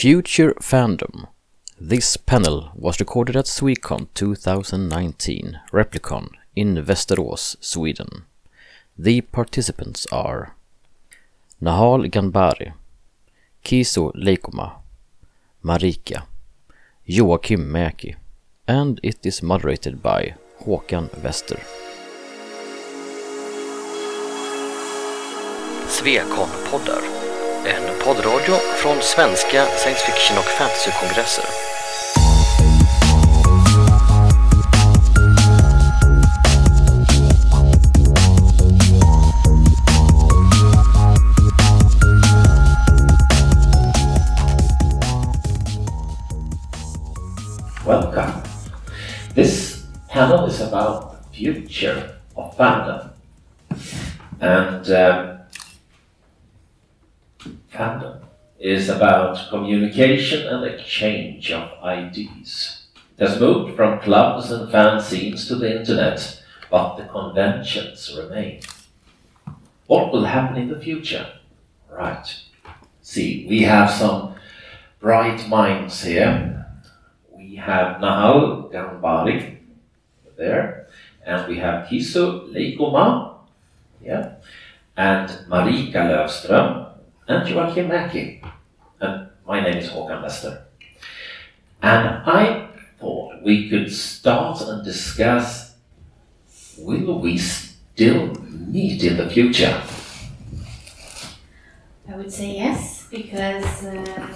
Future Fandom. This panel was recorded at Swecon 2019 Replicon in Västerås, Sweden. The participants are Nahal Ganbari, Kiso Leikoma, Marika, Joakim Mäki, and it is moderated by Håkan Wester. Swecon-poddar. En poddradio från svenska science fiction och fantasy-kongresser. Welcome. This panel is about the future of fandom. And fandom is about communication and exchange of ideas. It has moved from clubs and fanzines to the internet, but the conventions remain. What will happen in the future? Right. See, we have some bright minds here. We have Nahal Ganbari there, and we have Kiso Leikoma, and Marika Löfström, and Joakim Mäki. And my name is Håkan Wester. And I thought we could start and discuss, will we still meet in the future? I would say yes, because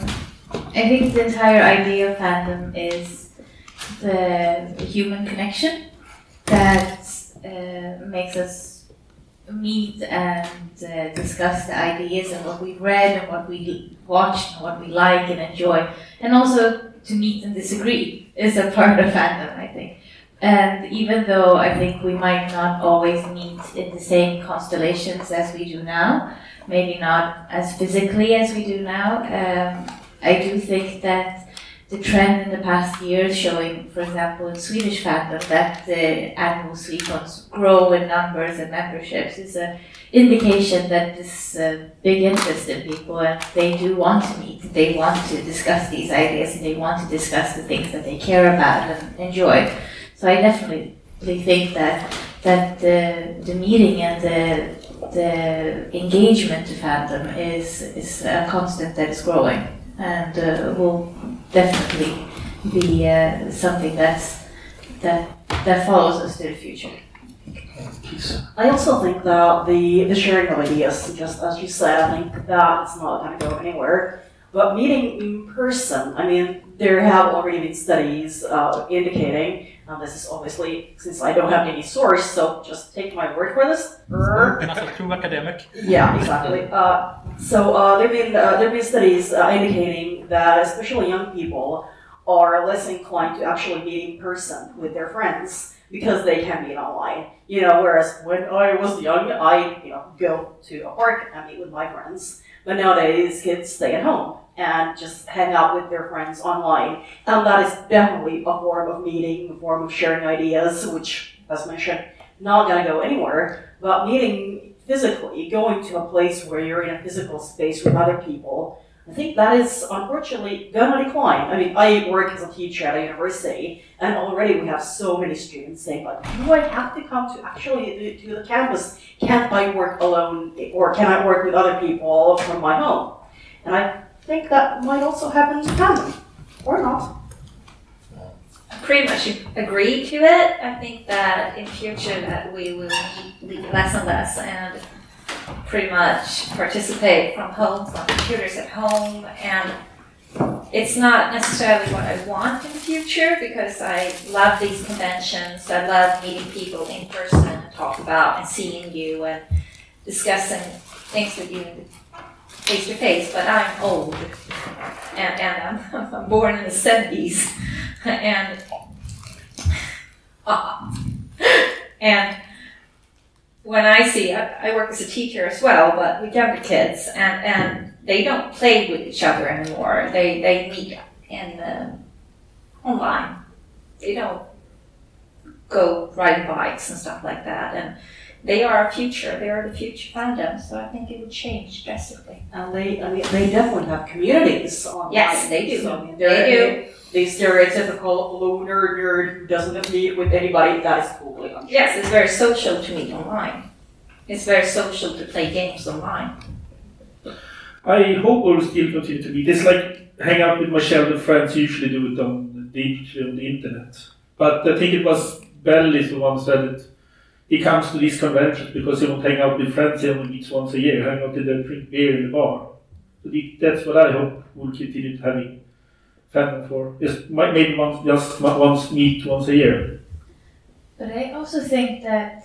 I think the entire idea of fandom is the human connection that makes us meet and discuss the ideas and what we've read and what we watched and what we like and enjoy, and also to meet and disagree is a part of fandom, I think. And even though I think we might not always meet in the same constellations as we do now, maybe not as physically as we do now, I do think that the trend in the past years showing, for example, in Swedish fandom, that the annual Swecons grow in numbers and memberships is an indication that this big interest in people, and they do want to meet, they want to discuss these ideas, and they want to discuss the things that they care about and enjoy. So I definitely think that the meeting and the engagement to fandom is a constant that is growing, and will definitely be something that follows us to the future. I also think that the sharing of ideas, just as you said, I think that it's not going to go anywhere. But meeting in person, I mean, there have already been studies indicating, and this is obviously, since I don't have any source, so just take my word for this. True academic. Yeah, exactly. There have been studies indicating that especially young people are less inclined to actually meet in person with their friends because they can meet online. Whereas when I was young, I go to a park and meet with my friends. But nowadays, kids stay at home and just hang out with their friends online. And that is definitely a form of meeting, a form of sharing ideas, which, as mentioned, not going to go anywhere. But meeting physically, going to a place where you're in a physical space with other people, I think that is unfortunately going to decline. I mean, I work as a teacher at a university, and already we have so many students saying, like, do I have to come to actually to the campus? Can't I work alone, or can I work with other people from my home? And I think that might also happen to fandom, or not. I pretty much agree to it. I think that in future that we will meet less and less and pretty much participate from home, from computers at home, and it's not necessarily what I want in the future, because I love these conventions. I love meeting people in person and talk about and seeing you and discussing things with you face to face. But I'm old, and I'm born in the 70s, and when I see, I work as a teacher as well, but with younger kids, and they don't play with each other anymore. They meet in online. They don't go riding bikes and stuff like that. And they are our future. They are the future fandom. So I think it would change drastically. And they definitely have communities online. Yes, they do. So, I mean, They do. The stereotypical loner nerd who doesn't meet with anybody, that is totally untrue. Yes, it's very social to meet online. It's very social to play games online. I hope we'll still continue to meet. It's like hang out with my childhood friends, usually do it on the internet. But I think it was Bellis who once said it. He comes to these conventions because he won't hang out with friends he only meets once a year, hang out in the drink beer in the bar. So that's what I hope we'll continue having fandom for. Maybe once meet once a year. But I also think that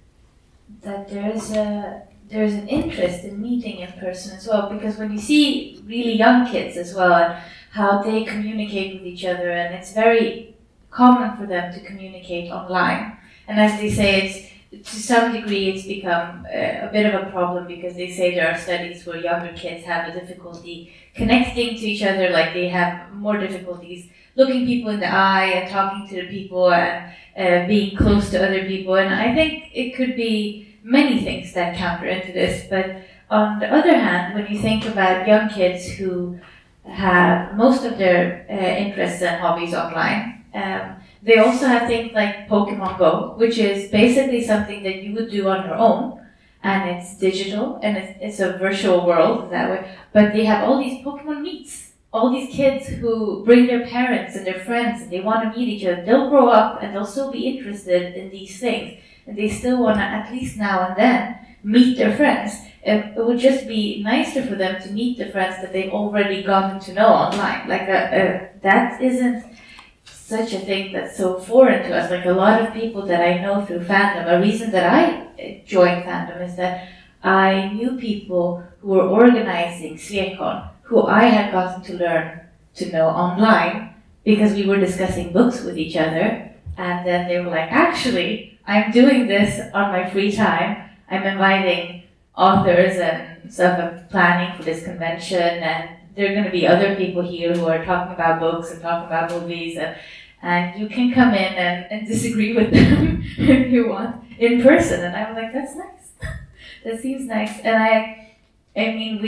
there's an interest in meeting in person as well, because when you see really young kids as well and how they communicate with each other, and it's very common for them to communicate online. And as they say, to some degree it's become a bit of a problem, because they say there are studies where younger kids have a difficulty connecting to each other, like they have more difficulties looking people in the eye and talking to the people and being close to other people. And I think it could be many things that counter into this. But on the other hand, when you think about young kids who have most of their interests and hobbies online, they also have things like Pokemon Go, which is basically something that you would do on your own, and it's digital and it's a virtual world that way. But they have all these Pokemon meets, all these kids who bring their parents and their friends, and they want to meet each other. They'll grow up and they'll still be interested in these things, and they still want to, at least now and then, meet their friends. It would just be nicer for them to meet the friends that they've already gotten to know online. Like that isn't such a thing that's so foreign to us. Like a lot of people that I know through fandom, a reason that I joined fandom is that I knew people who were organizing Swecon, who I had gotten to learn to know online because we were discussing books with each other. And then they were like, actually, I'm doing this on my free time. I'm inviting authors and stuff. I'm planning for this convention, and there are going to be other people here who are talking about books and talking about movies, and you can come in and disagree with them if you want in person. And I was like, that's nice. That seems nice. And I mean,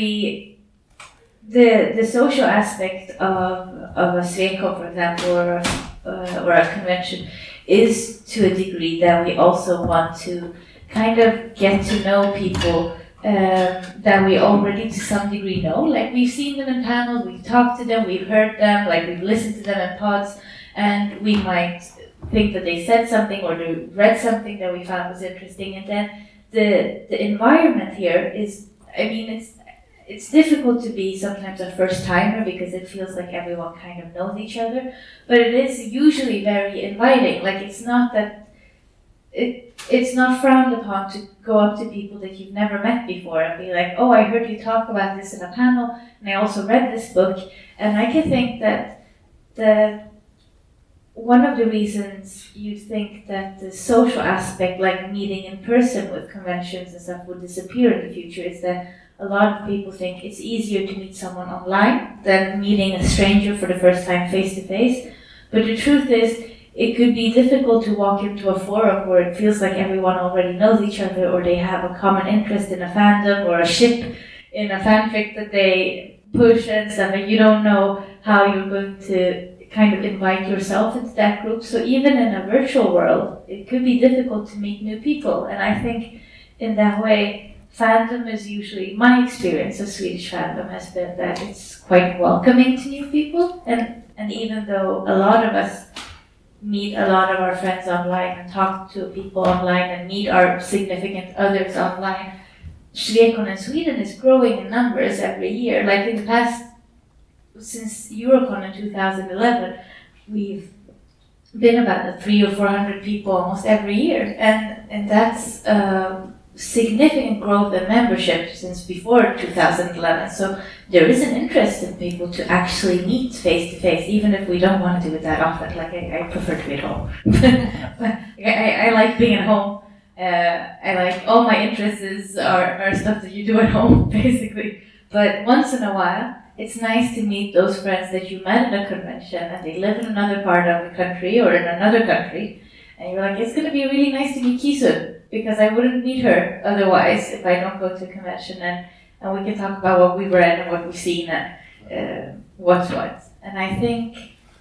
the social aspect of a Swecon, for example, or a convention, is to a degree that we also want to kind of get to know people that we already to some degree know. Like we've seen them in panels, we've talked to them, we've heard them, like we've listened to them in pods, and we might think that they said something or they read something that we found was interesting. And then the environment here is, I mean, it's difficult to be sometimes a first timer because it feels like everyone kind of knows each other, but it is usually very inviting. Like it's not that it's not frowned upon to go up to people that you've never met before and be like, oh, I heard you talk about this in a panel, and I also read this book. And I can think that one of the reasons you think that the social aspect, like meeting in person with conventions and stuff, would disappear in the future is that a lot of people think it's easier to meet someone online than meeting a stranger for the first time face to face. But the truth is, it could be difficult to walk into a forum where it feels like everyone already knows each other, or they have a common interest in a fandom or a ship in a fanfic that they push and stuff, and you don't know how you're going to kind of invite yourself into that group. So even in a virtual world, it could be difficult to meet new people. And I think in that way, fandom is usually, my experience of Swedish fandom has been that it's quite welcoming to new people. And even though a lot of us meet a lot of our friends online and talk to people online and meet our significant others online, Swecon in Sweden is growing in numbers every year. Like in the past, since Eurocon in 2011, we've been about 300 or 400 people almost every year, and that's significant growth in membership since before 2011. So there is an interest in people to actually meet face to face, even if we don't want to do it that often. Like I prefer to be at home. I like being at home. I like all my interests are stuff that you do at home, basically. But once in a while, it's nice to meet those friends that you met at a convention and they live in another part of the country or in another country. And you're like, it's going to be really nice to meet Kisun. because I wouldn't meet her otherwise if I don't go to a convention, and we can talk about what we read and what we've seen and what's what. And I think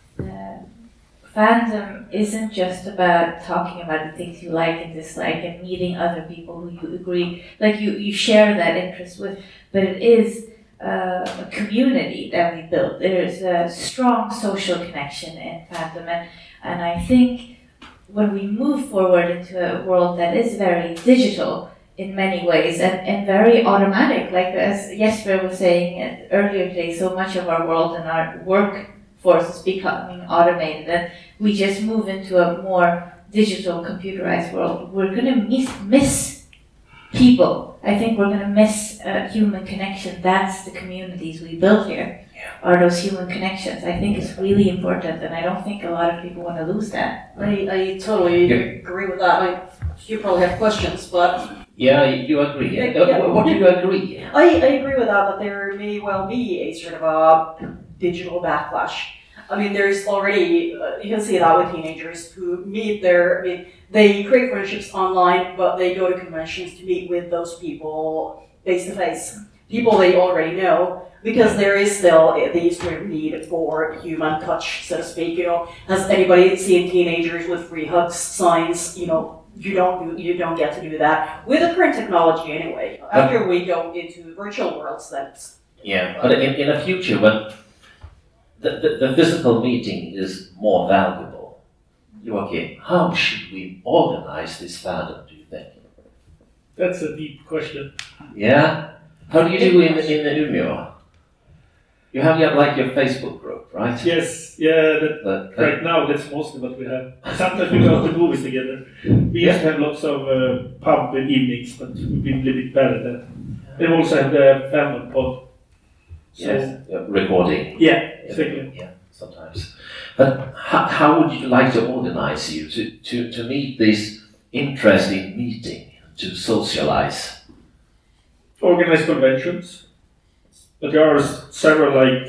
fandom isn't just about talking about the things you like and dislike and meeting other people who you agree, like you share that interest with, but it is a community that we build. There's a strong social connection in fandom, and I think when we move forward into a world that is very digital in many ways and very automatic, like as Jesper was saying earlier today, so much of our world and our workforce is becoming automated, and we just move into a more digital, computerized world. We're going to miss people. I think we're going to miss human connection. That's the communities we build here. Are those human connections. I think it's really important, and I don't think a lot of people want to lose that. I totally agree with that. You probably have questions, but... Yeah, you agree. What do you agree? I agree with that there may well be a sort of a digital backlash. I mean, there's already, you can see that with teenagers who they create friendships online, but they go to conventions to meet with those people face to face. People they already know, because there is still the sort of need for human touch, so to speak. Has anybody seen teenagers with free hugs signs? You don't get to do that with the current technology anyway. After we go into virtual worlds, that's... Yeah, but in the future, when the physical meeting is more valuable, Joachim, how should we organize this fandom, do you think? That's a deep question. Yeah? How do you do in Umeå? You have like your Facebook group, right? Yes, yeah, right now that's mostly what we have. Sometimes we go to movies together. We used to have lots of pub evenings, but we've been a little bit better at that. And we also have the fandom pod. So, yes, recording. Yeah, exactly. Yeah, sometimes. But how would you like to organize you to meet this interesting meeting, to socialize? Organize conventions. But there are several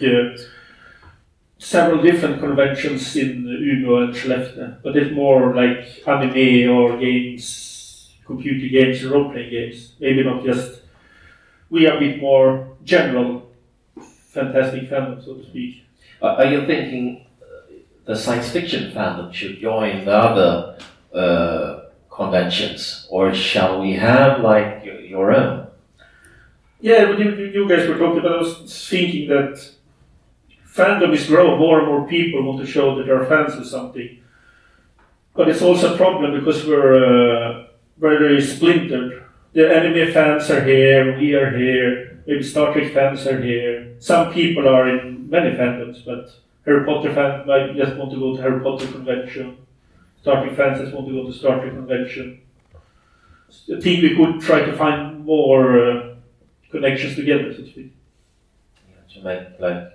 different conventions in Umeå and Skellefteå, but it's more like anime or games, computer games, role-playing games. Maybe not just. We are a bit more general, fantastic fandom, so to speak. Are you thinking the science fiction fandom should join the other conventions, or shall we have like your own? Yeah, you guys were talking about, I was thinking that fandom is growing, more and more people want to show that they're fans of something. But it's also a problem because we're very splintered. The anime fans are here, we are here, maybe Star Trek fans are here. Some people are in many fandoms, but Harry Potter fans might just want to go to Harry Potter convention. Star Trek fans just want to go to Star Trek convention. I think we could try to find more connections together, so to speak. To make like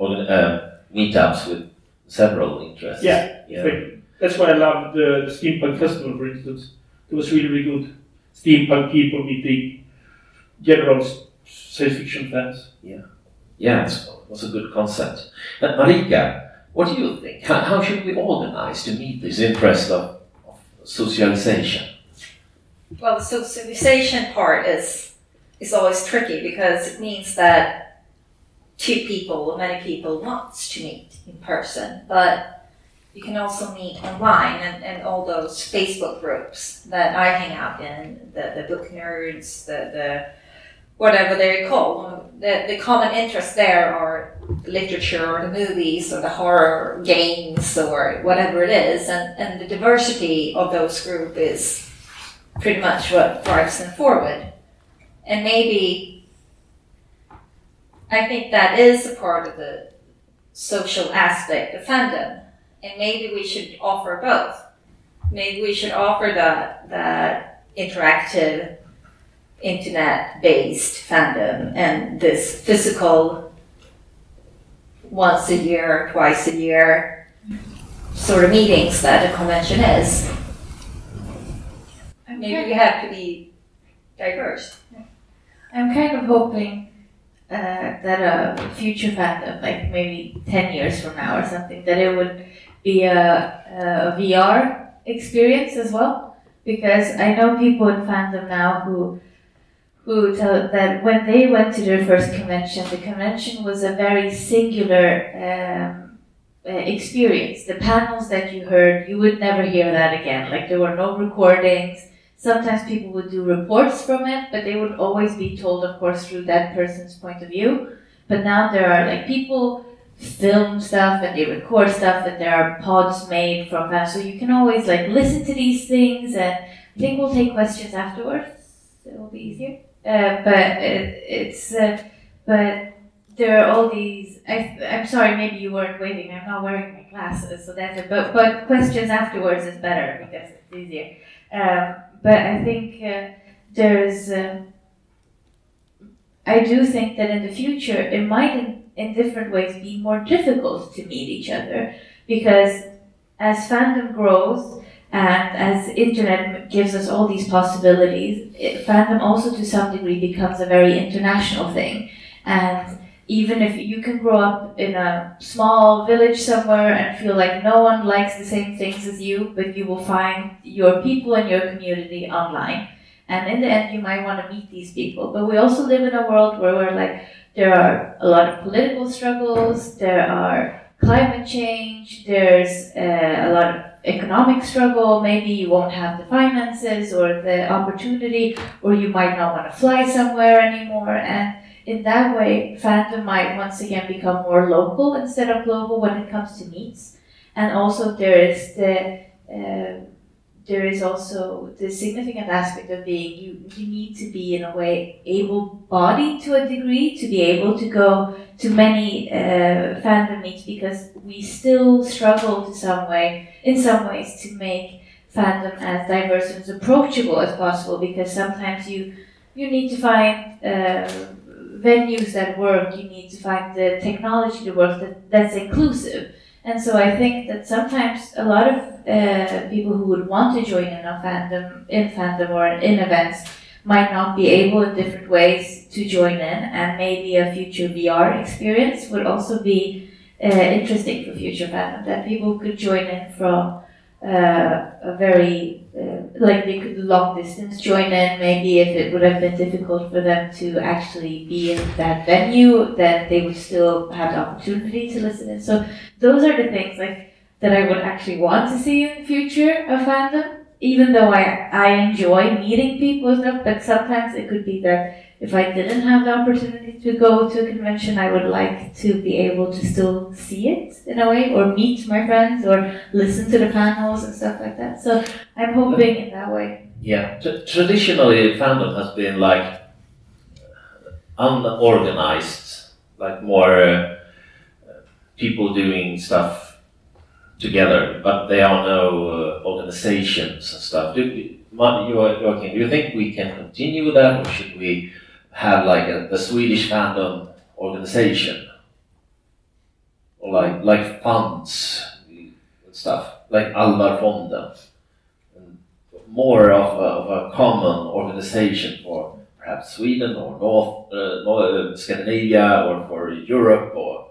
meetups with several interests. Yeah. Exactly. That's why I loved the Steampunk Festival, for instance. It was really, really good. Steampunk people meeting general science fiction fans. Yeah, it was a good concept. Marika, what do you think? How should we organize to meet this interest of socialization? Well, the socialization part is always tricky because it means that many people want to meet in person, but you can also meet online and all those Facebook groups that I hang out in, the book nerds, the whatever they're called. The common interests there are literature or the movies or the horror games or whatever it is, and the diversity of those groups is pretty much what drives them forward. And maybe I think that is a part of the social aspect of fandom. And maybe we should offer both. Maybe we should offer that interactive, internet-based fandom and this physical once a year, twice a year sort of meetings that a convention is. Maybe we have to be diverse. I'm kind of hoping that a future fandom, like maybe 10 years from now or something, that it would be a VR experience as well, because I know people in fandom now who tell that when they went to their first convention, the convention was a very singular experience. The panels that you heard, you would never hear that again. Like there were no recordings. Sometimes people would do reports from it, but they would always be told, of course, through that person's point of view. But now there are like people film stuff and they record stuff, and there are pods made from fans, so you can always like listen to these things. And I think we'll take questions afterwards. It will be easier. But there are all these. I'm sorry, maybe you weren't waiting. I'm not wearing my glasses, so that's it. But questions afterwards is better because it's easier. But I think there's. I do think that in the future it might, in different ways, be more difficult to meet each other, because as fandom grows and as internet gives us all these possibilities, fandom also to some degree becomes a very international thing. And even if you can grow up in a small village somewhere and feel like no one likes the same things as you, but you will find your people and your community online. And in the end, you might want to meet these people. But we also live in a world where we're like, there are a lot of political struggles, there are climate change, there's a lot of economic struggle. Maybe you won't have the finances or the opportunity, or you might not want to fly somewhere anymore. And in that way, fandom might once again become more local instead of global when it comes to meets. And also there is also the significant aspect of being, you need to be in a way able-bodied to a degree to be able to go to many fandom meets, because we still struggle in some ways to make fandom as diverse and as approachable as possible, because sometimes you need to find venues that work, you need to find the technology that works that's inclusive. And so I think that sometimes a lot of people who would want to join in fandom or in events might not be able in different ways to join in, and maybe a future VR experience would also be interesting for future fandom, that people could join in from a very, like they could long distance join in. Maybe if it would have been difficult for them to actually be in that venue, then they would still have the opportunity to listen in. So those are the things like that I would actually want to see in the future of fandom, even though I enjoy meeting people and stuff. But sometimes it could be that if I didn't have the opportunity to go to a convention, I would like to be able to still see it in a way, or meet my friends, or listen to the panels and stuff like that. So I'm hoping in that way. Yeah, traditionally fandom has been like unorganized, like more people doing stuff together, but there are no organizations and stuff. Do you think we can continue that, or should we have like the Swedish fandom organization, or like funds and stuff, like Alvarfonden, and more of a common organization for perhaps Sweden or North Scandinavia, or for Europe, or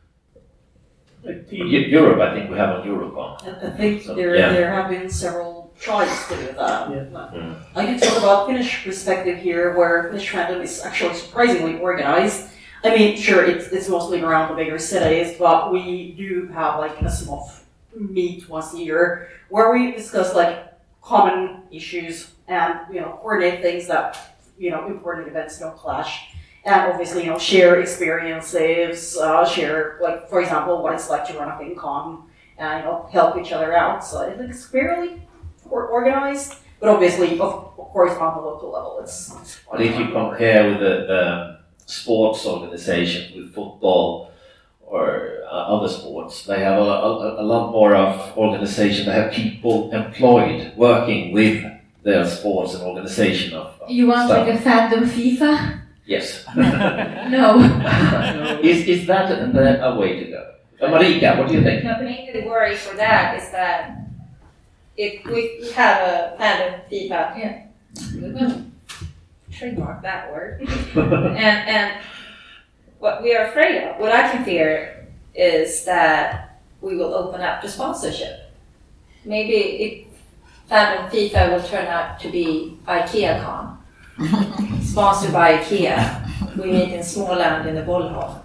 Europe? I think we have a Eurocon. I think there have been several tries to do that. Yeah. I can talk about Finnish perspective here, where Finnish fandom is actually surprisingly organized. I mean, sure, it's mostly around the bigger cities, but we do have like a small meet once a year where we discuss like common issues and coordinate things that important events don't clash, and obviously share experiences, share like, for example, what it's like to run a FinCon, and help each other out. So it's fairly organized, but obviously, of course, on the local level, it's But if you compare with the sports organizations, with football or other sports, they have a lot more of organization. They have people employed working with their sports and organization of You want stuff. like a fandom FIFA? Yes. No. Is that a way to go? Marika, what do you think? Mainly the worry for that is that if we have a fandom FIFA, we're going to trademark that word. and what we are afraid of, what I can fear, is that we will open up to sponsorship. Maybe fandom FIFA will turn out to be IKEA-con. Sponsored by IKEA. We meet in Småland in the Bollhav.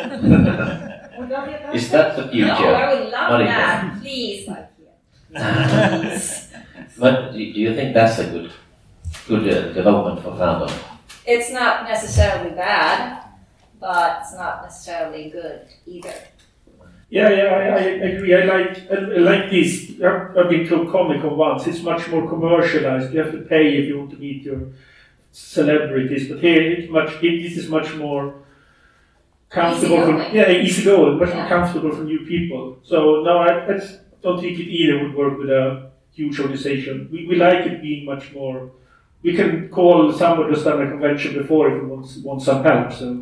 Is that the future? No, I would love Not that. Please, IKEA. Please. But do you think that's a good development for fandom? It's not necessarily bad, but it's not necessarily good either. Yeah, I agree. I like this. I've been to a Comic-Con once. It's much more commercialized. You have to pay if you want to meet your celebrities. But here, this is much more comfortable. Easygoing. Much more comfortable for new people. So no, I don't think it either would work with a huge organization. We like it being much more. We can call someone who's done a convention before if we want some help. So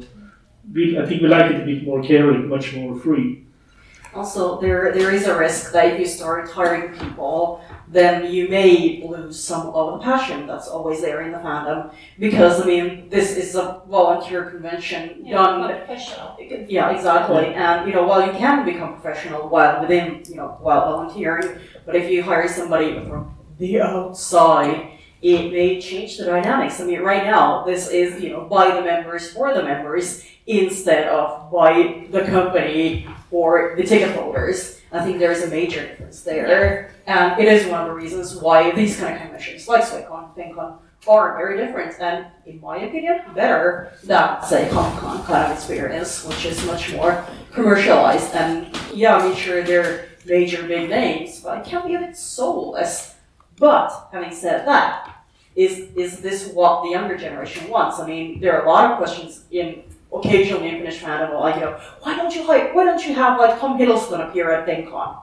I think we like it a bit more caring, much more free. Also, there is a risk that if you start hiring people, then you may lose some of the passion that's always there in the fandom. Because, I mean, this is a volunteer convention done... professional. Yeah, exactly. And, while you can become professional while volunteering, but if you hire somebody from the outside, it may change the dynamics. I mean, right now, this is, by the members, for the members, instead of by the company or the ticket holders. I think there's a major difference there. And it is one of the reasons why these kind of conventions, like SwayCon, FinCon, are very different and, in my opinion, better than, say, Comic-Con kind of experience, which is much more commercialized. And, sure, they're major big names, but it can be a bit soulless. But, having said that, is this what the younger generation wants? I mean, there are a lot of questions occasionally in Finnish fandom, like, why don't you have like Tom Hiddleston appear at FinCon?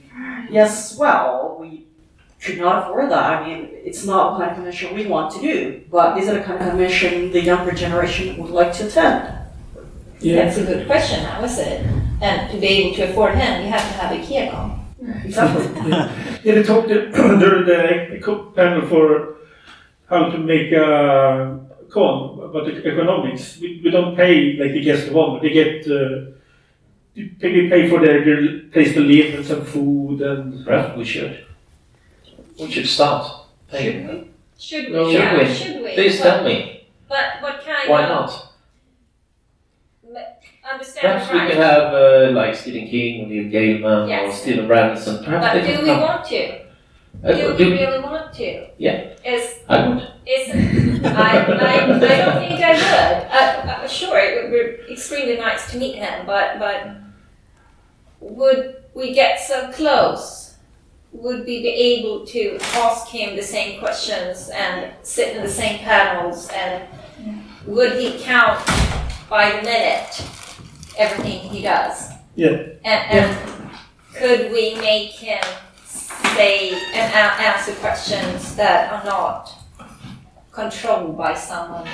Yes, well, we could not afford that. I mean, it's not the kind of convention we want to do, but is it a kind of convention the younger generation would like to attend? Yeah. That's a good question, how is it? And to be able to afford him, you have to have IKEA-con. Exactly. They talked during the panel for how to make a con about the economics. We don't pay like the guest of honor. They get they pay for their place to live and some food and. Perhaps we should. We should start paying. Should we? No, Should we? Please tell me. But what kind Why of... not? Understand Perhaps we right. can have like Stephen King, Neil Gaiman, or Yes. Stephen Branson. Perhaps But they do can we come. want to? Do we really want to? Yeah. I would. I don't think I would. Sure, it would be extremely nice to meet him, but would we get so close? Would we be able to ask him the same questions and sit in the same panels? And would he count by the minute everything he does? Yeah. And could we make him say and answer questions that are not controlled by someone?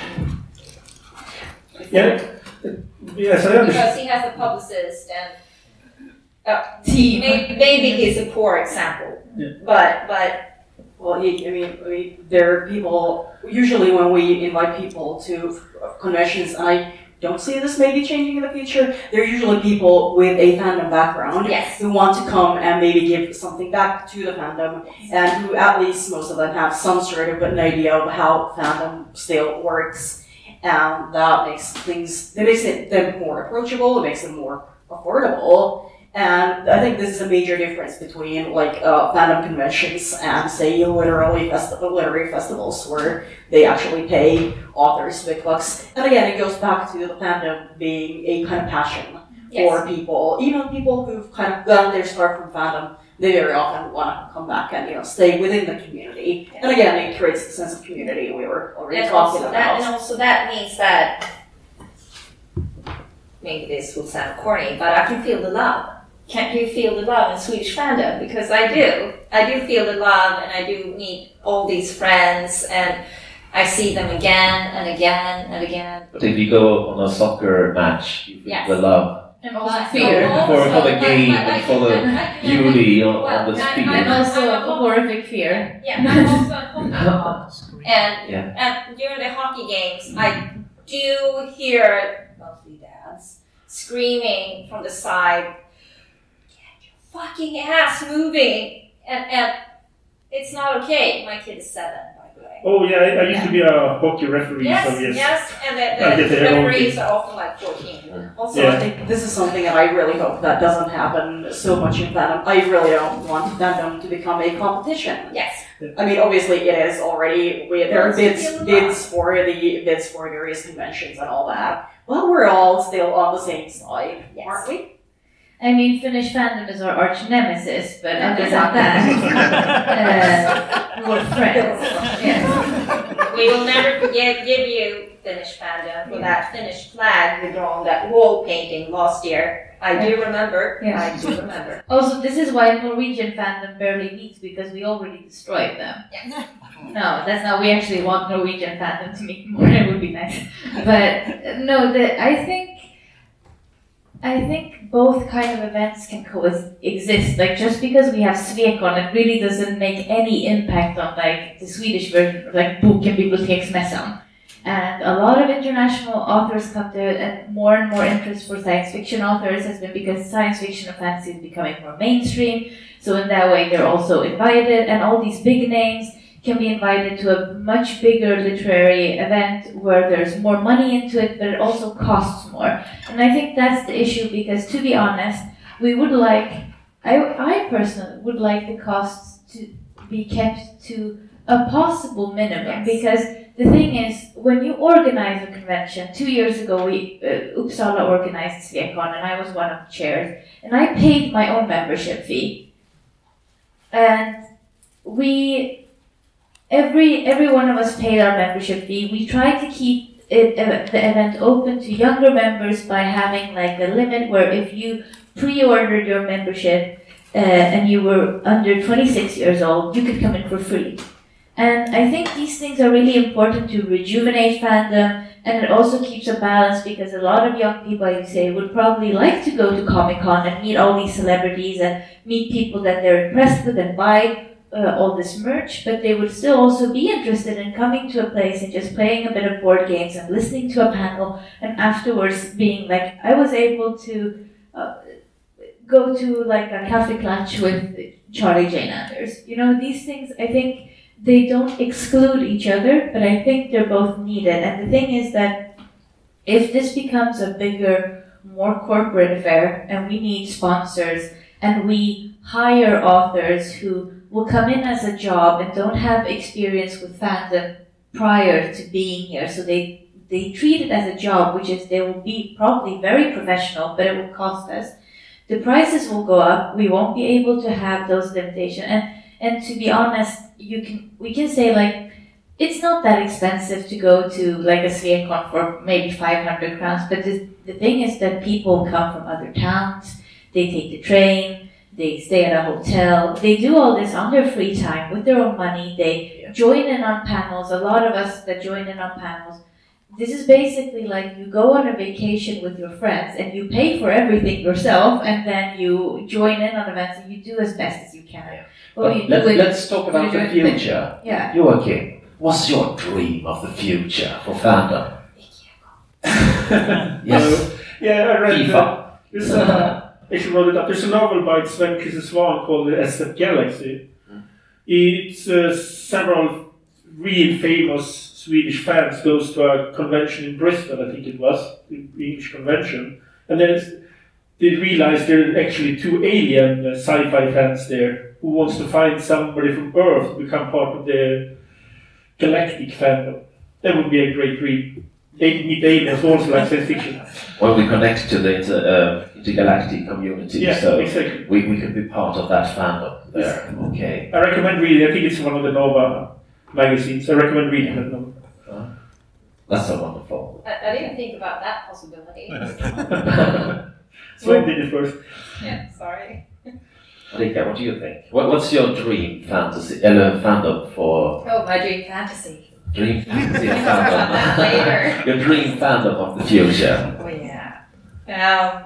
Yeah. Yes, I understand. Because he has a publicist and Team. maybe he's a poor example, Yeah. but Well, I mean, there are people, usually when we invite people to conventions, and I don't see this maybe changing in the future, they're usually people with a fandom background yes, who want to come and maybe give something back to the fandom, and who at least most of them have some sort of an idea of how fandom still works, and that makes them more approachable, it makes them more affordable. And I think this is a major difference between like fandom conventions and say literary festivals where they actually pay authors big bucks. And again, it goes back to the fandom being a kind of passion for people. Even people who've kind of gotten their start from fandom, they very often want to come back and stay within the community. And again, it creates a sense of community we were already talking about. And also that means that maybe this will sound corny, but I can feel the love. Can't you feel the love in Swedish fandom? Because I do. I do feel the love, and I do meet all these friends, and I see them again and again and again. But if you go on a soccer match, you feel Yes. the love And also fear. for the game and for the beauty on the screen. And also a horrific fear. Yeah, I'm also a hockey and Yeah. and during the hockey games, I do hear mostly dads screaming from the side, "Get your fucking ass moving!" And It's not okay. My kid is 7, by the way. Oh yeah, I used to be a hockey referee. Yes, so yes. yes, and I get the the wrong referees thing. are often like 14. Also, Yeah. I think this is something that I really hope that doesn't happen so much in fandom. I really don't want fandom to become a competition. Yes. I mean, obviously it is already. There are Yes, bids for various conventions and all that. Well, we're all still on the same side, Yes. aren't we? I mean, Finnish fandom is our arch nemesis, but other than Exactly. that, we're friends. Yes. We will never give you Finnish fandom for that Finnish flag we draw on that wall painting last year. I do remember. Yeah. I do remember. Also, this is why Norwegian fandom barely meets, because we already destroyed them. Yes. No, that's not. We actually want Norwegian fandom to meet more. It would be nice. But no, I think both kind of events can coexist. Like, just because we have Svekon, it really doesn't make any impact on like the Swedish version of like Boken Biblioteksmässan. And a lot of international authors come to it, and more interest for science fiction authors has been because science fiction and fantasy is becoming more mainstream. So in that way, they're also invited, and all these big names can be invited to a much bigger literary event where there's more money into it, but it also costs more. And I think that's the issue, because to be honest, we would like, I personally would like the costs to be kept to a possible minimum, Yes. because the thing is, when you organize a convention, 2 years ago, Uppsala organized Svekon, and I was one of the chairs, and I paid my own membership fee. And every one of us paid our membership fee. We tried to keep the event open to younger members by having like a limit where if you pre-ordered your membership and you were under 26 years old, you could come in for free. And I think these things are really important to rejuvenate fandom, and it also keeps a balance, because a lot of young people, I would say, would probably like to go to Comic-Con and meet all these celebrities and meet people that they're impressed with and buy all this merch, but they would still also be interested in coming to a place and just playing a bit of board games and listening to a panel, and afterwards being like, I was able to go to like a cafe clutch with Charlie Jane Anders. You know, these things, I think, they don't exclude each other, but I think they're both needed. And the thing is that if this becomes a bigger, more corporate affair, and we need sponsors, and we hire authors who will come in as a job and don't have experience with fandom prior to being here, so they treat it as a job, which is they will be probably very professional, but it will cost us. The prices will go up. We won't be able to have those limitations. And to be honest, we can say like, it's not that expensive to go to like a Svekon for maybe 500 crowns, but the thing is that people come from other towns, they take the train, they stay at a hotel, they do all this on their free time with their own money, they join in on panels. A lot of us that join in on panels, this is basically like you go on a vacation with your friends and you pay for everything yourself, and then you join in on events and you do as best as you can. Yeah. Well, But let's talk about the future. Yeah. Joachim, what's your dream of the future for fandom? Yes. Yeah, I read FIFA. There's I should roll it up. There's a novel by Sven Christer Svan called The SF Galaxy. It's several real famous Swedish fans goes to a convention in Bristol, I think it was, the English convention, and then they realize there are actually 2 alien sci-fi fans there who wants to find somebody from Earth to become part of the galactic fandom. That would be a great dream. They meet aliens also like science fiction. Well, we connect to the intergalactic community, Yeah, so exactly. we could be part of that fandom there. Okay. I recommend reading. I think it's one of the Nova magazines. I recommend reading that novel. That's so wonderful. I didn't think about that possibility. So I did it first. Yeah, sorry. Rika, what do you think? What's your dream fantasy, fandom for Oh, my dream fantasy. dream fantasy We can talk about that later. fandom? Your dream fandom of the future. Oh yeah.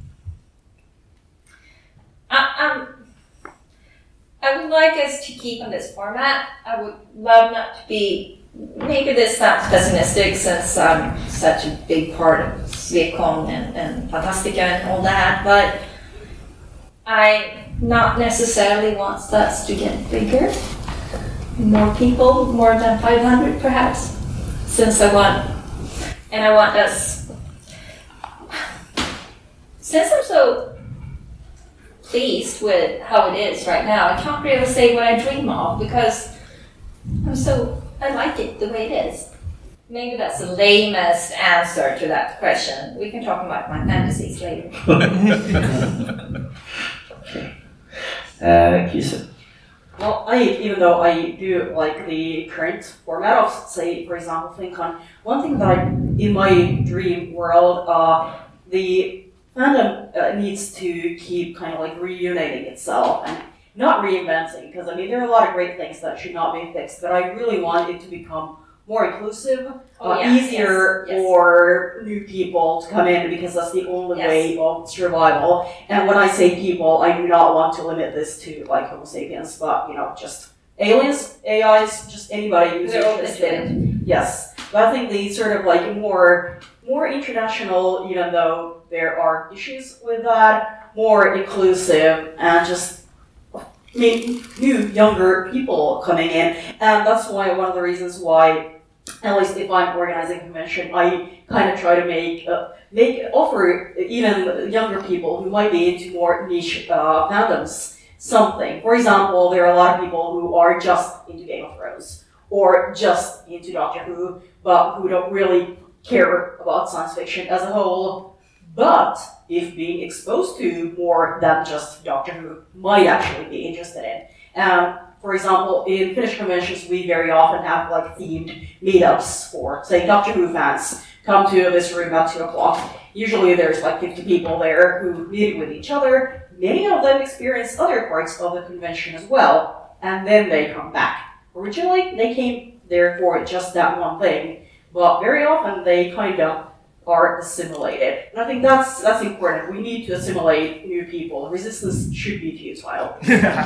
I would like us to keep on this format. I would love not to be. Maybe this sounds pessimistic since I'm such a big part of Svekon and Fantastica and all that, but I not necessarily want us to get bigger. more people, more than 500 perhaps, since I want us, since I'm so pleased with how it is right now, I can't really say what I dream of because I like it the way it is. Maybe that's the lamest answer to that question. We can talk about my fantasies later. Kisa. Well, even though I do like the current format of, say, for example, FinCon, one thing that in my dream world, the fandom needs to keep kind of like reuniting itself and not reinventing, because I mean, there are a lot of great things that should not be fixed, but I really want it to become more inclusive, easier for new people to come in, because that's the only way of survival. And when I say people, I do not want to limit this to like Homo sapiens, but just aliens, AIs, just anybody who's interested. Yes, but I think the sort of like more international, even though there are issues with that, more inclusive and just new, younger people coming in. And that's why one of the reasons why, at least if I'm organizing a convention, I kind of try to offer even younger people who might be into more niche fandoms something. For example, there are a lot of people who are just into Game of Thrones or just into Doctor Who, but who don't really care about science fiction as a whole. But if being exposed to more than just Doctor Who might actually be interested in. For example, in Finnish conventions, we very often have like themed meetups for, say, Doctor Who fans. Come to this room at 2 o'clock. Usually there's like 50 people there who meet with each other. Many of them experience other parts of the convention as well, and then they come back. Originally, they came there for just that one thing, but very often they kind of are assimilated. And I think that's important. We need to assimilate new people. Resistance should be futile.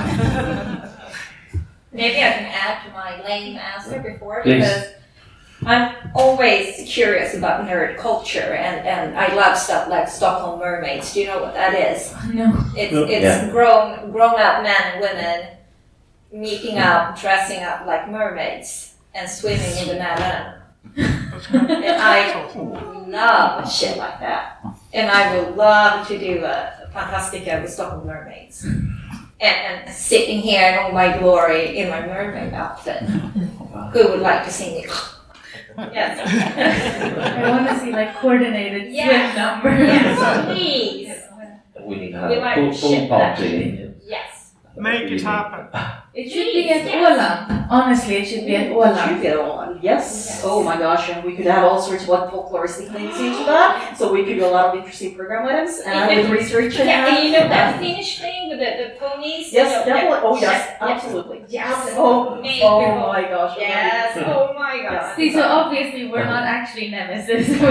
Maybe I can add to my lame answer before, because I'm always curious about nerd culture, and I love stuff like Stockholm Mermaids. Do you know what that is? No. It's grown up men and women meeting up, dressing up like mermaids, and swimming in the Mälaren. And I love shit like that. And I would love to do a Fantastica with Stockholm Mermaids. And sitting here in all my glory in my mermaid outfit. Who would like to see me? Yes. I want to see like coordinated swim numbers. Yes, please. We need to have a full party. Yes. Make it happen. It should be at Åland. Honestly, it should be at Åland. It should be at Åland, yes. Oh my gosh, and we could add all sorts of like folkloristic things into that, so we could do a lot of interesting program items and with research. And you know that Finnish thing with the ponies? Yes, definitely. Oh yes, absolutely. Yes. Oh my gosh. Yes. Oh my gosh. See, so obviously we're not actually nemesis. we do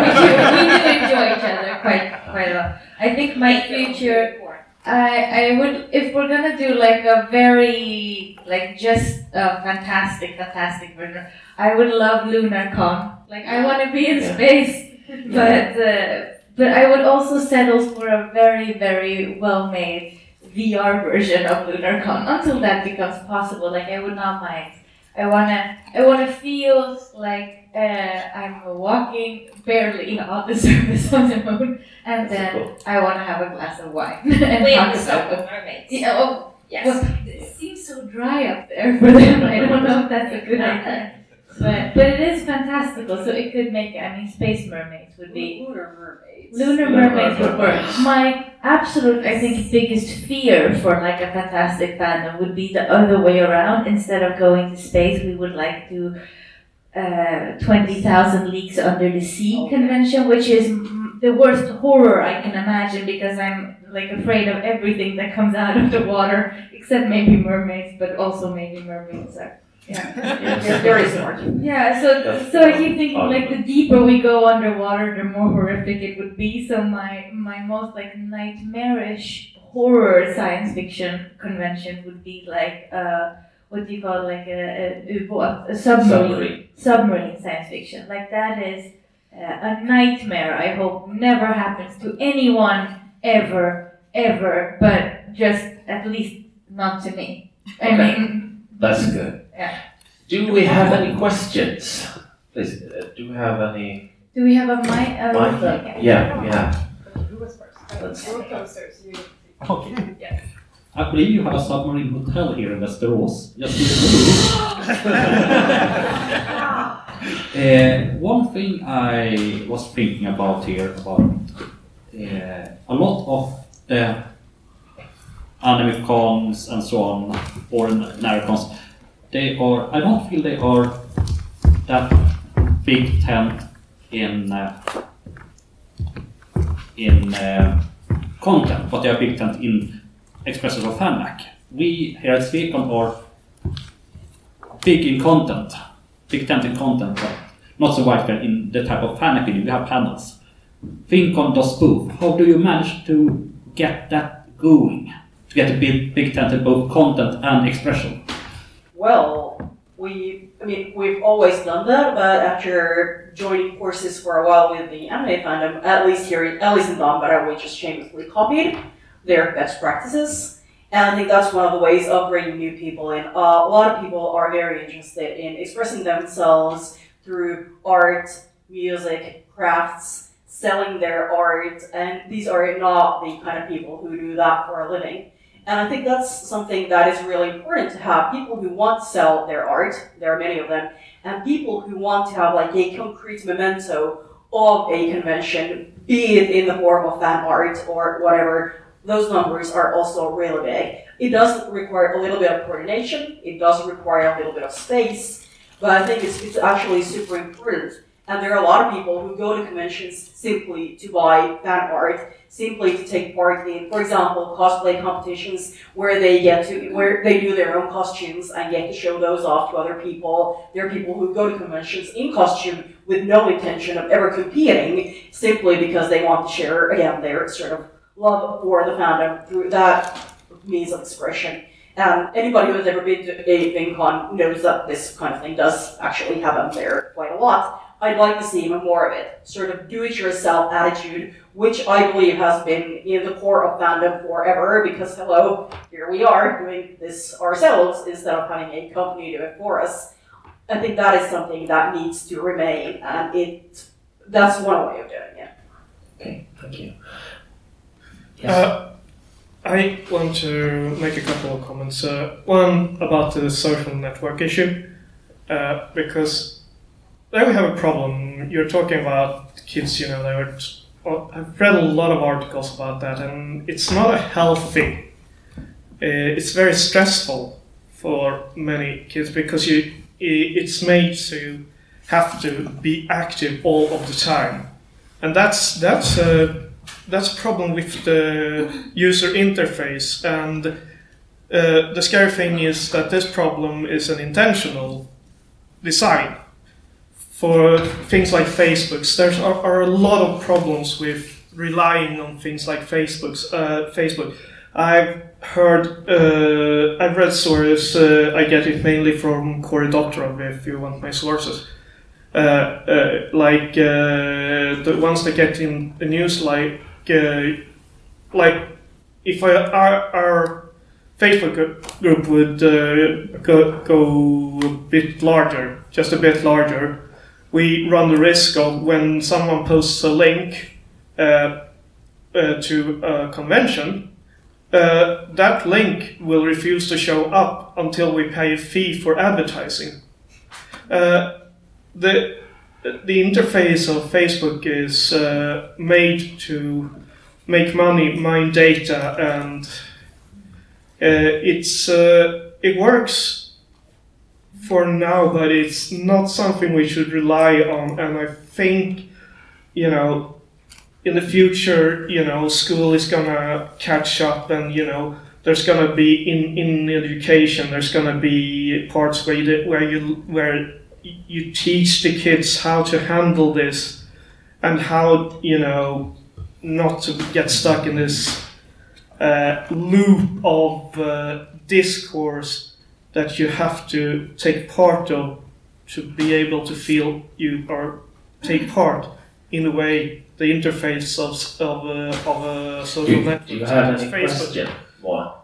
enjoy each other quite a lot. I think my future, I would, if we're gonna do like a very, like just a fantastic version, I would love LunarCon. Like I want to be in space, but I would also settle for a very, very well-made VR version of LunarCon until that becomes possible. Like I would not mind. I wanna feel like I'm walking barely on the surface of the moon, and then I wanna have a glass of wine and talk about the mermaids. Yeah, yes. Well, it seems so dry up there for them. I don't know if that's a good idea. But it is fantastical, so it could make, space mermaids would be... Lunar mermaids would work. My absolute, I think, biggest fear for like a fantastic fandom would be the other way around. Instead of going to space, we would like to 20,000 Leagues Under the Sea convention, which is the worst horror I can imagine, because I'm like afraid of everything that comes out of the water, except maybe mermaids, but also maybe mermaids are... You're very smart. Yeah, so I keep thinking like the deeper we go underwater, the more horrific it would be. So my most like nightmarish horror science fiction convention would be like what do you call it? Like a submarine science fiction. Like that is a nightmare. I hope never happens to anyone ever, but just at least not to me. I mean. That's good. Yeah. Do we have any questions? Please, do we have any? Do we have a mic? Yeah, we have. Who was first? Let's- You were closer, so you Okay. Yes. I believe you have a submarine hotel here in Västerås. Just one thing I was thinking about here about a lot of the anime cons and so on, or narracons, I don't feel they are that big tent in content, but they are big tent in expressions of FanMac. We here at Swecon are big in content, big tent in content, but not so widespread in the type of FanMac we do. We have panels. FinCon does both. How do you manage to get that going? To get a big tent in both content and expression? Well, we've always done that, but after joining courses for a while with the anime fandom, at least in Danbara, we just shamelessly copied their best practices. And I think that's one of the ways of bringing new people in. A lot of people are very interested in expressing themselves through art, music, crafts, selling their art, and these are not the kind of people who do that for a living. And I think that's something that is really important to have. People who want to sell their art, there are many of them, and people who want to have like a concrete memento of a convention, be it in the form of fan art or whatever. Those numbers are also really big. It does require a little bit of coordination, it does require a little bit of space, but I think it's actually super important. And there are a lot of people who go to conventions simply to buy fan art, simply to take part in, for example, cosplay competitions where they do their own costumes and get to show those off to other people. There are people who go to conventions in costume with no intention of ever competing, simply because they want to share, again, their sort of love for the fandom through that means of expression. Anybody who has ever been to a FinCon knows that this kind of thing does actually happen there quite a lot. I'd like to see more of it, sort of do-it-yourself attitude, which I believe has been in the core of fandom forever, because hello, here we are doing this ourselves instead of having a company do it for us. I think that is something that needs to remain, and that's one way of doing it. Okay, thank you. I want to make a couple of comments. One about the social network issue, because there we have a problem. You're talking about kids, I've read a lot of articles about that, and it's not a healthy. It's very stressful for many kids because it's made to have to be active all of the time, and that's a problem with the user interface. And the scary thing is that this problem is an intentional design. For things like Facebook, there are a lot of problems with relying on things like Facebook. I've read stories, I get it mainly from Cory Doctorow, if you want my sources. The ones that get in the news, like if our Facebook group would go a bit larger, just a bit larger, we run the risk of when someone posts a link to a convention, that link will refuse to show up until we pay a fee for advertising. The interface of Facebook is made to make money, mine data, and it works for now, but it's not something we should rely on. And I think, in the future, school is gonna catch up, and there's gonna be in education, there's gonna be parts where you teach the kids how to handle this and how not to get stuck in this loop of discourse that you have to take part of to be able to feel you or take part in the way the interface of a social network. Do you have any question? Well,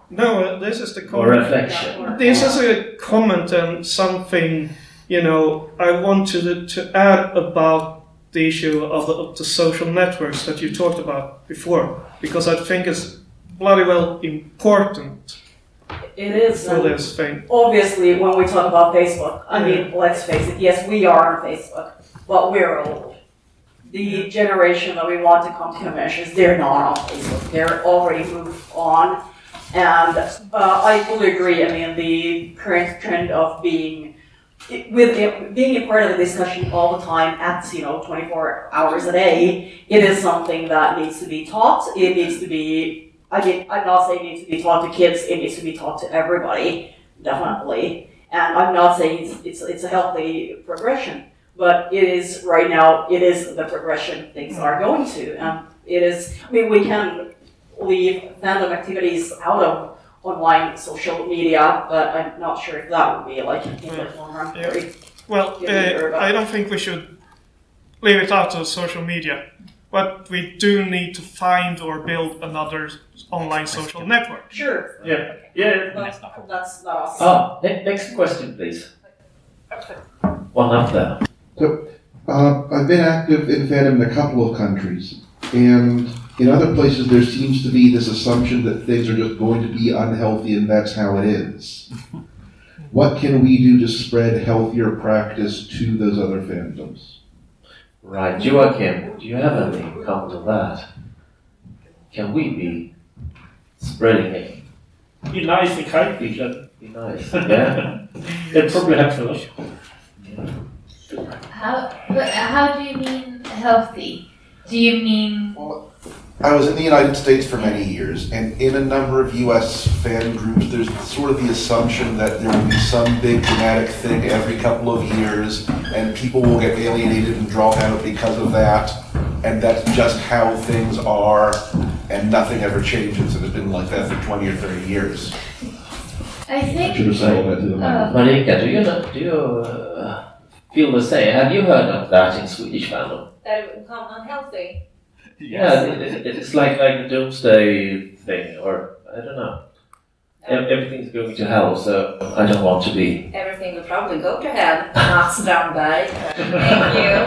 No, this is the Or comment. reflection? This is a comment and something, I want to add about the issue of the social networks that you talked about before, because I think it's bloody well important It is. for this thing. Obviously, when we talk about Facebook, I mean, let's face it, yes, we are on Facebook, but we're old. The generation that we want to come to conventions, they're not on Facebook. They're already moved on. And I fully agree. I mean, the current trend of being a part of the discussion all the time at 24 hours a day, it is something that needs to be taught. It needs to be. I mean, I'm not saying it needs to be taught to kids. It needs to be taught to everybody, definitely. And I'm not saying it's a healthy progression, but it is right now. It is the progression things are going to, and it is. I mean, we can leave fandom activities out of online social media, but I'm not sure if that would be like in the long run. Yeah. Well, I don't think we should leave it out of social media, but we do need to find or build another online social network. Sure. Yeah. But that's not us. Next question, please. One up there. So, I've been active in fandom in a couple of countries, and in other places there seems to be this assumption that things are just going to be unhealthy and that's how it is. What can we do to spread healthier practice to those other fandoms? Right, Joachim, do you have any comment on that? Can we be spreading it? Be nice and kind to each other. Be nice, yeah. It probably helps a lot. How do you mean healthy? Do you mean I was in the United States for many years, and in a number of US fan groups, there's sort of the assumption that there will be some big dramatic thing every couple of years, and people will get alienated and drop out because of that, and that's just how things are, and nothing ever changes, and it's been like that for 20 or 30 years. I think Should have said that to them. Marika, do you feel the same? Have you heard of that in Swedish fandom? That it would become unhealthy. Yeah, it's like a doomsday thing, or I don't know. Everything's going to hell, so I don't want to be. Everything would probably go to hell. Mats Strandberg. Thank you.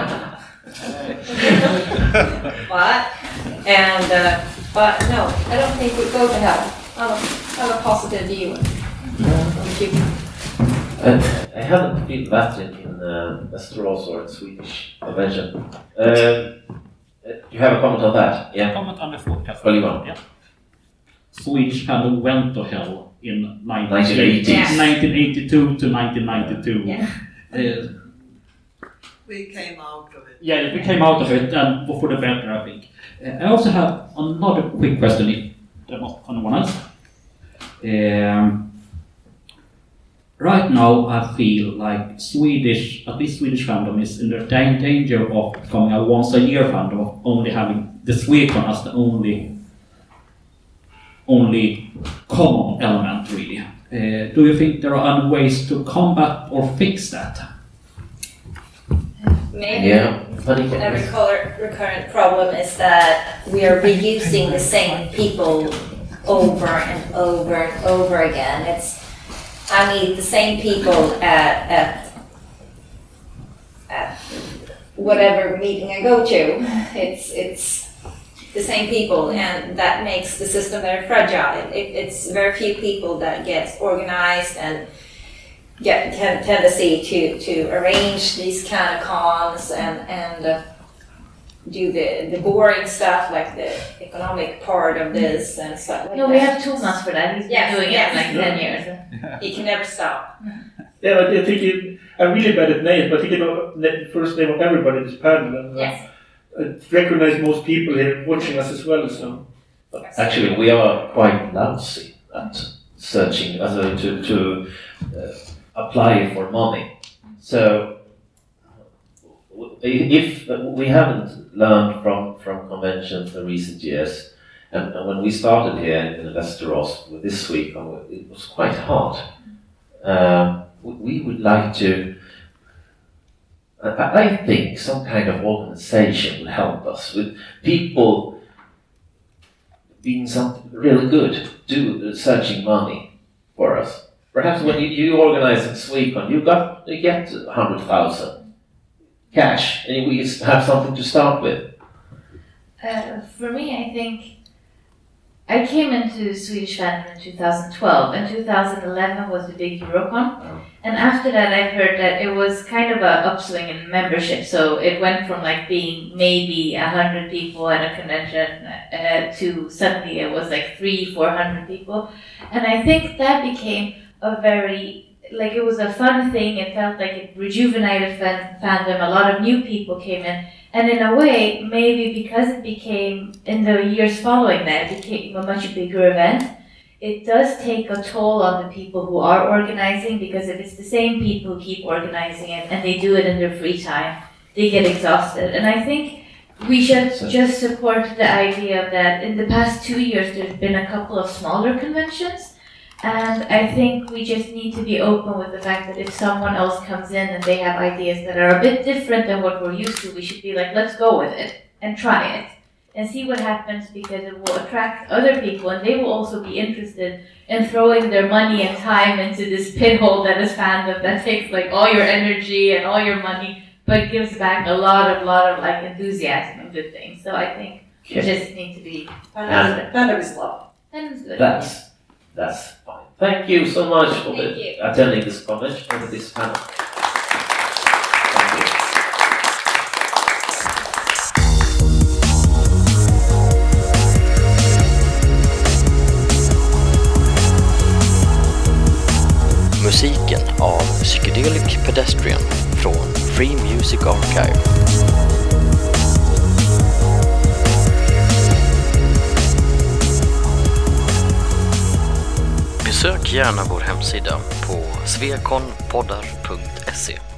But no, I don't think we'd go to hell. I have a positive view. I haven't feel that in Västerås or in Swedish convention. You have a comment on that? Yeah. Comment on the forecast. Oliver. Yeah. Swedish fandom went to hell in 1980s. 1982 to 1992. Yeah. We came out of it. Yeah, we came out of it, and for the better, I think. I also have another quick question, if there was anyone else. Right now, I feel like at least Swedish fandom is in the danger of becoming a once-a-year fandom, of only having the Swecon as the only common element, really. Do you think there are any ways to combat or fix that? Maybe Yeah. a recurrent problem is that we are reusing the same people over and over and over again. I meet the same people at whatever meeting I go to. It's the same people, and that makes the system very fragile. It's very few people that get organized and get tendency to arrange these kind of cons and do the boring stuff like the economic part of this and stuff like no, that. we have Thomas for that. He's been doing it like 10 years. He can never stop. Yeah, but I think I'm really bad at names, but I think the first name of everybody in this panel. And, Yes. I recognize most people here watching us as well, so. Actually, we are quite lousy at searching to apply for money. So, if we haven't learned from conventions in recent years, and when we started here in Västerås with this week, it was quite hard. We would like to. I think some kind of organization would help us with people being something really good do searching money for us. Perhaps when you organize in Swecon, you get 100,000 cash, and we have something to start with. For me, I think I came into Swedish fandom in 2012, and 2011 was the big Eurocon. And after that, I've heard that it was kind of an upswing in membership. So it went from like being maybe 100 people at a convention to suddenly it was like 300-400 people. And I think that became a very, like it was a fun thing. It felt like it rejuvenated fandom. A lot of new people came in. And in a way, maybe because it became, in the years following that, it became a much bigger event, it does take a toll on the people who are organizing, because if it's the same people who keep organizing it and they do it in their free time, they get exhausted. And I think we should just support the idea of that. In the past 2 years, there's been a couple of smaller conventions. And I think we just need to be open with the fact that if someone else comes in and they have ideas that are a bit different than what we're used to, we should be like, let's go with it and try it and see what happens, because it will attract other people and they will also be interested in throwing their money and time into this pit hole that is fandom that takes like all your energy and all your money, but gives back a lot of like enthusiasm and good things. So I think we just need to be Fandom is love. Fandom's good. That's fine. Thank you so much for attending this convention and this panel. Thank you. Musiken av Psychedelic Pedestrian från Free Music Archive. Besök gärna vår hemsida på svekonpoddar.se.